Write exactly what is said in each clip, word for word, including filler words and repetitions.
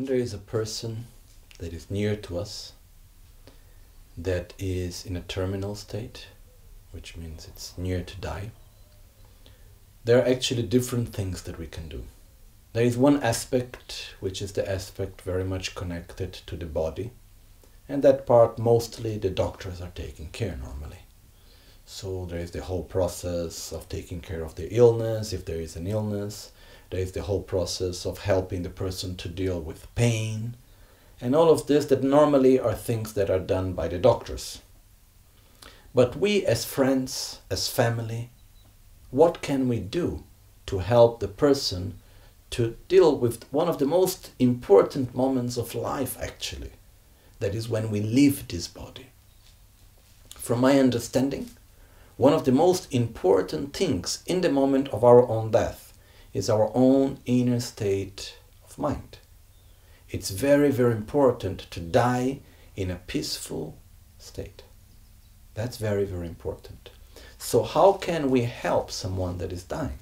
there is a person that is near to us that is in a terminal state, which means it's near to die, there are actually different things that we can do. There is one aspect, which is the aspect very much connected to the body, and that part mostly the doctors are taking care normally. So there is the whole process of taking care of the illness, if there is an illness. There is the whole process of helping the person to deal with pain, and all of this that normally are things that are done by the doctors. But we as friends, as family, what can we do to help the person to deal with one of the most important moments of life actually? That is when we leave this body. From my understanding, one of the most important things in the moment of our own death is our own inner state of mind. It's very, very important to die in a peaceful state. That's very, very important. So how can we help someone that is dying?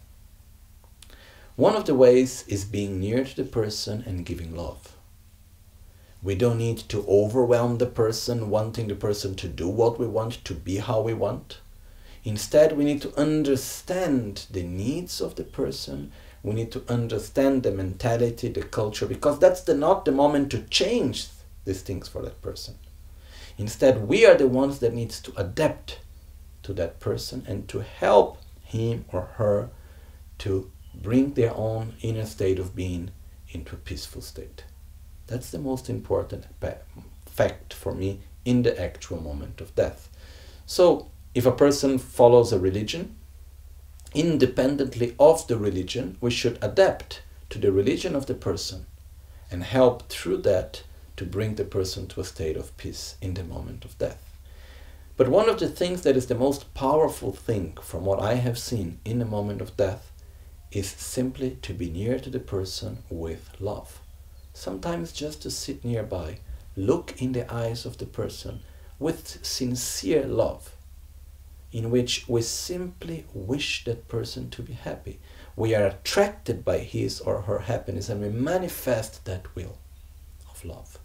One of the ways is being near to the person and giving love. We don't need to overwhelm the person, wanting the person to do what we want, to be how we want. Instead, we need to understand the needs of the person. We need to understand the mentality, the culture, because that's the, not the moment to change these things for that person. Instead, we are the ones that needs to adapt to that person and to help him or her to bring their own inner state of being into a peaceful state. That's the most important fact for me in the actual moment of death. So, if a person follows a religion, independently of the religion, we should adapt to the religion of the person and help through that to bring the person to a state of peace in the moment of death. But one of the things that is the most powerful thing from what I have seen in the moment of death is simply to be near to the person with love. Sometimes just to sit nearby, look in the eyes of the person with sincere love, in which we simply wish that person to be happy. We are attracted by his or her happiness and we manifest that will of love.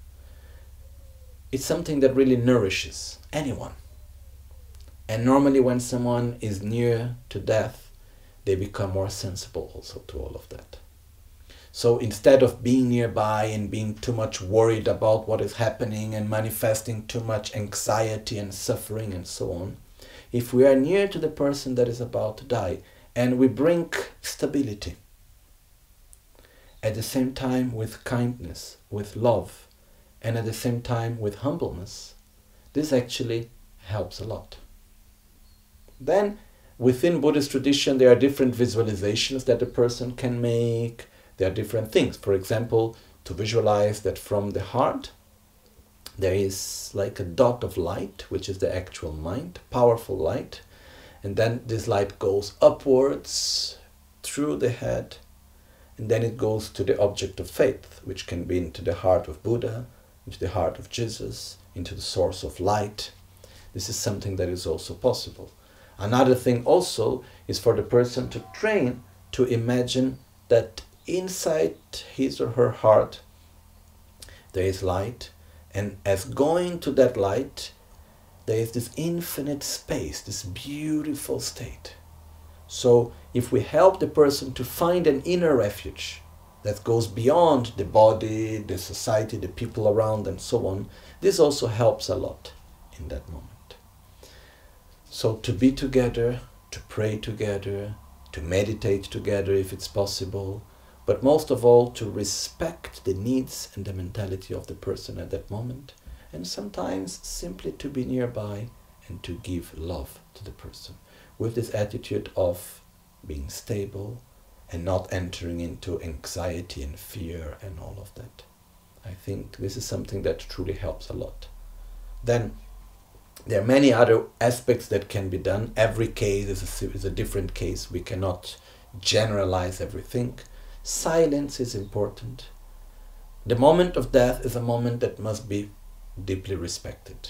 It's something that really nourishes anyone. And normally when someone is near to death, they become more sensible also to all of that. So instead of being nearby and being too much worried about what is happening and manifesting too much anxiety and suffering and so on, if we are near to the person that is about to die and we bring stability, at the same time with kindness, with love, and at the same time with humbleness, this actually helps a lot. Then within Buddhist tradition there are different visualizations that a person can make. There are different things. For example, to visualize that from the heart there is like a dot of light, which is the actual mind, powerful light. And then this light goes upwards through the head. And then it goes to the object of faith, which can be into the heart of Buddha, into the heart of Jesus, into the source of light. This is something that is also possible. Another thing also is for the person to train to imagine that inside his or her heart there is light, and as going to that light there is this infinite space, this beautiful state. So if we help the person to find an inner refuge that goes beyond the body, the society, the people around and so on, this also helps a lot in that moment. So to be together, to pray together, to meditate together if it's possible, but most of all to respect the needs and the mentality of the person at that moment, and sometimes simply to be nearby and to give love to the person with this attitude of being stable and not entering into anxiety and fear and all of that. I think this is something that truly helps a lot. Then there are many other aspects that can be done. Every case is a, is a different case. We cannot generalize everything. Silence is important. The moment of death is a moment that must be deeply respected.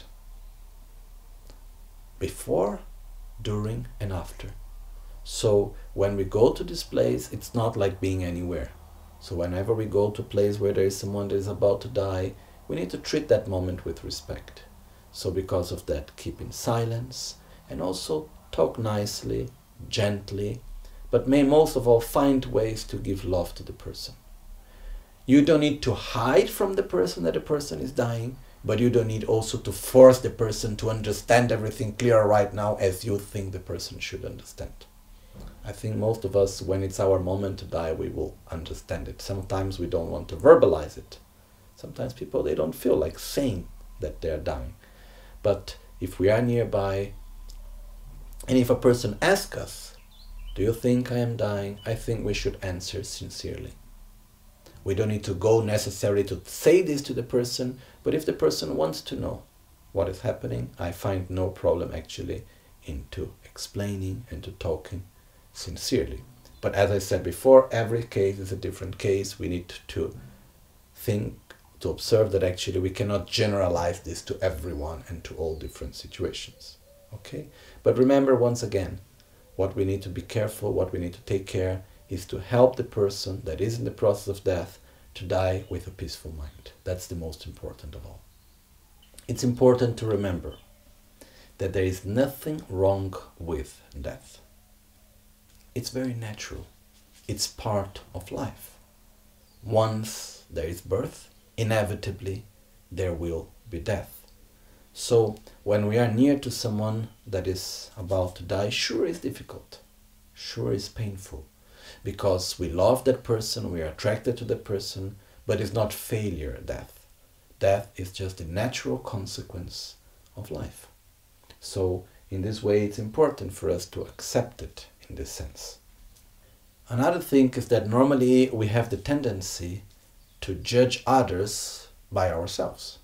Before, during, and after. So when we go to this place, it's not like being anywhere. So whenever we go to a place where there is someone that is about to die, we need to treat that moment with respect. So because of that, keep in silence and also talk nicely, gently, but may most of all find ways to give love to the person. You don't need to hide from the person that the person is dying, but you don't need also to force the person to understand everything clear right now as you think the person should understand. I think most of us, when it's our moment to die, we will understand it. Sometimes we don't want to verbalize it. Sometimes people, they don't feel like saying that they're dying. But if we are nearby, and if a person asks us, do you think I am dying? I think we should answer sincerely. We don't need to go necessarily to say this to the person, but if the person wants to know what is happening, I find no problem actually into explaining and to talking sincerely. But as I said before, every case is a different case. We need to think, to observe that actually we cannot generalize this to everyone and to all different situations. Okay? But remember once again, what we need to be careful, what we need to take care is to help the person that is in the process of death to die with a peaceful mind. That's the most important of all. It's important to remember that there is nothing wrong with death. It's very natural. It's part of life. Once there is birth, inevitably there will be death. So when we are near to someone that is about to die, sure is difficult, sure is painful, because we love that person, we are attracted to that person, but it's not failure death. Death is just a natural consequence of life. So in this way it's important for us to accept it in this sense. Another thing is that normally we have the tendency to judge others by ourselves.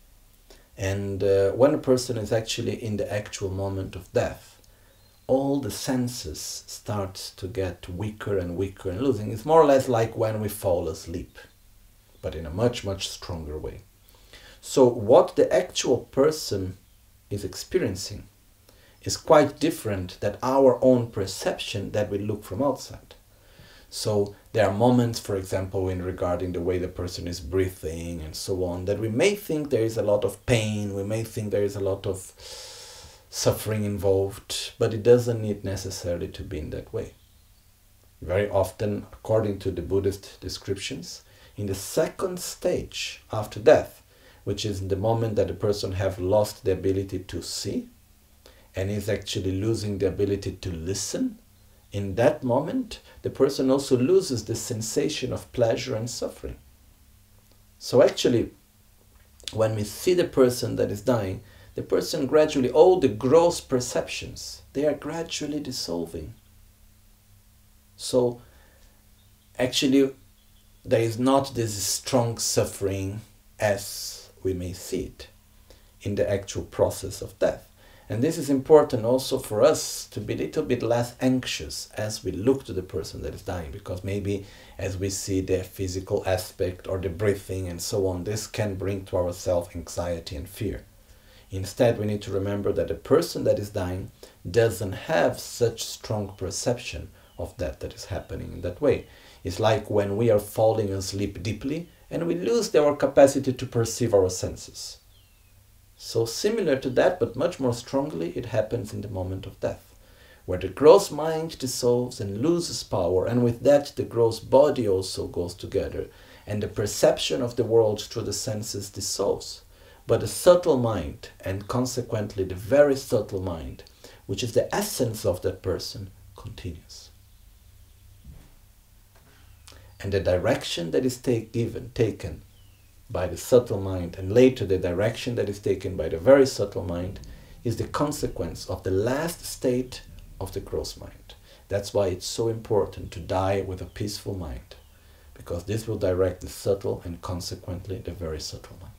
And uh, when a person is actually in the actual moment of death, all the senses start to get weaker and weaker and losing. It's more or less like when we fall asleep, but in a much, much stronger way. So what the actual person is experiencing is quite different than our own perception that we look from outside. So there are moments, for example, in regarding the way the person is breathing and so on, that we may think there is a lot of pain, we may think there is a lot of suffering involved, but it doesn't need necessarily to be in that way. Very often, according to the Buddhist descriptions, in the second stage after death, which is the moment that the person have lost the ability to see and is actually losing the ability to listen, in that moment, the person also loses the sensation of pleasure and suffering. So actually, when we see the person that is dying, the person gradually, all the gross perceptions, they are gradually dissolving. So actually, there is not this strong suffering as we may see it in the actual process of death. And this is important also for us to be a little bit less anxious as we look to the person that is dying, because maybe as we see the physical aspect or the breathing and so on, this can bring to ourselves anxiety and fear. Instead, we need to remember that the person that is dying doesn't have such strong perception of that that is happening in that way. It's like when we are falling asleep deeply and we lose our capacity to perceive our senses. So similar to that, but much more strongly, it happens in the moment of death, where the gross mind dissolves and loses power, and with that the gross body also goes together, and the perception of the world through the senses dissolves. But the subtle mind, and consequently the very subtle mind, which is the essence of that person, continues. And the direction that is take, given, taken by the subtle mind, and later the direction that is taken by the very subtle mind, is the consequence of the last state of the gross mind. That's why it's so important to die with a peaceful mind, because this will direct the subtle and consequently the very subtle mind.